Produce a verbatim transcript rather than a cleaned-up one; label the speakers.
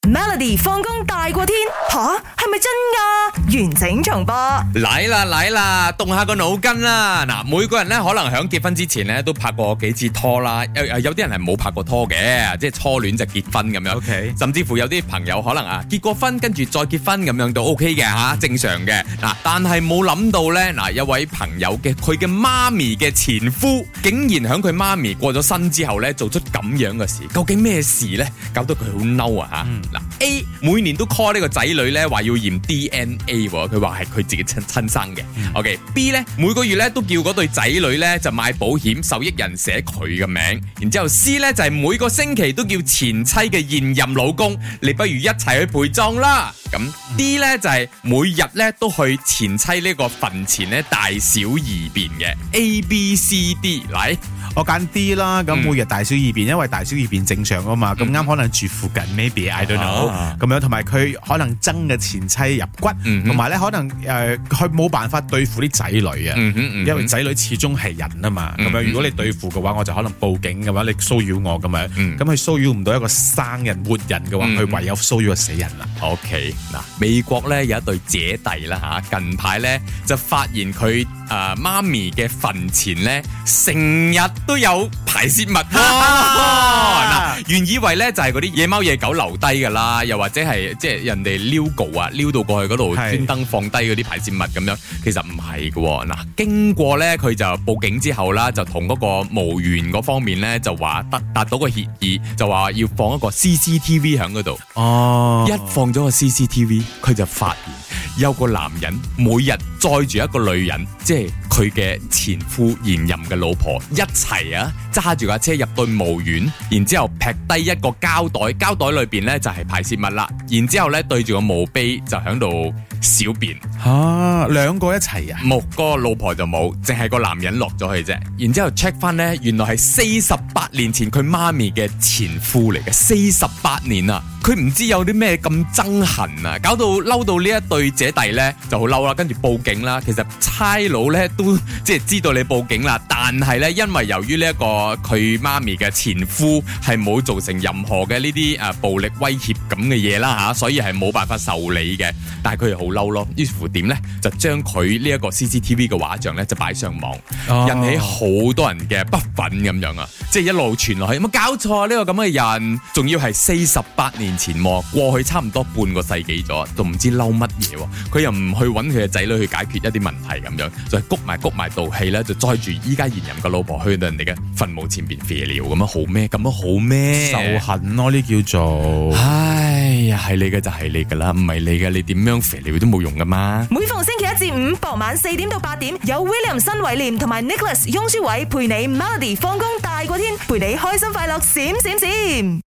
Speaker 1: Melody 放工大過天吓，係咪真㗎？完整重播
Speaker 2: 嚟啦嚟啦，動下個腦筋啦。嗱，每個人咧可能喺結婚之前咧都拍過幾次拖啦，有有啲人係冇拍過拖嘅，即係初戀就結婚咁樣。
Speaker 3: OK，
Speaker 2: 甚至乎有啲朋友可能啊結過婚跟住再結婚咁樣都 OK 嘅吓，正常嘅。嗱，但係冇諗到咧，嗱，有位朋友嘅佢嘅媽咪嘅前夫，竟然喺佢媽咪過咗身之後咧做出咁樣嘅事，究竟咩事咧？搞到佢好嬲啊吓！嗱、嗯、A 每年都 call 呢個仔女咧話要驗 D N A， 佢話係佢自己親親生嘅。嗯、OK，B 咧每個月咧都叫嗰對仔女咧就買保險，受益人寫佢嘅名。然之後 C 咧就係、是、每個星期都叫前妻嘅現任老公，你不如一齊去陪葬啦。咁 D 咧就係、是、每日咧都去前妻呢個墳前咧大小二便嘅。A B C D 嚟。
Speaker 3: 我揀 D 啦，咁每日大小二便，因為大小二便正常啊嘛，咁啱、嗯、可能住附近 ，maybe I don't know，咁、啊、樣同埋佢可能憎嘅前妻入骨，同埋咧可能誒佢冇辦法對付啲仔女啊，嗯嗯嗯、因為仔女始終係人啊嘛，咁、嗯、樣如果你對付嘅話，我就可能報警嘅話，你騷擾我咁樣，咁佢騷擾唔到一個生人活人嘅話，佢、嗯、唯有騷擾個死人啦。
Speaker 2: OK， 嗱，美國咧有一對姐弟啦吓，近排咧就發現佢誒媽咪嘅墳前咧成日都有排泄物，嗱，原以為咧就係嗰啲野貓野狗留低噶啦，又或者係即係人哋撩告啊，撩到過去嗰度專登放低嗰啲排泄物咁樣，其實唔係嘅。嗱，經過咧佢就報警之後啦，就同嗰個墓園嗰方面咧就話達達到個協議，就話要放一個 C C T V 喺嗰度。哦，一放咗個 C C T V， 佢就發現有個男人每日載住一個女人，即係佢嘅前夫現任嘅老婆一齊啊，揸住架車入到墓園，然之後劈低一個膠袋，膠袋裏邊咧就係排泄物啦，然之後咧對住個墓碑就喺度小便。
Speaker 3: 吓、啊，兩個一齊啊？
Speaker 2: 冇，個老婆就冇，淨係個男人落咗去啫。然之後 check 翻咧，原來係四十八年前佢媽咪嘅前夫嚟嘅，四十八年啊！佢唔知有啲咩咁憎恨啊，搞到嬲到呢一對姐弟咧就好嬲啦，跟住報警啦。其實差佬咧都即係知道你報警啦，但係咧因為由於呢一個佢媽咪嘅前夫係冇造成任何嘅呢啲誒暴力威脅咁嘅嘢啦吓，所以係冇辦法受理嘅。但係佢又好嬲咯，於是乎點咧就將佢呢一個 C C T V 嘅畫像咧就擺上網，哦、引起好多人嘅不忿咁樣啊！即係一路傳落去，有冇搞錯呢、呢個咁嘅人？仲要係四十八年前過去差唔多半個世紀咗，都唔知嬲乜嘢，佢又唔去揾佢嘅仔女去解決一啲問題咁樣，就係谷埋谷埋道氣咧，就載住依家現任嘅老婆去到人哋嘅墳墓前邊肥料咁樣好咩？咁樣好咩？
Speaker 3: 仇恨咯，呢叫做。
Speaker 2: 唉呀，係你嘅就係你噶啦，唔係你嘅你點樣肥料都冇用噶嘛。
Speaker 1: 每逢星期一至五傍晚四點到八點，有 William 新偉廉同埋 Nicholas 雍舒偉陪你 Melody 放工大過天，陪你開心快樂閃閃閃。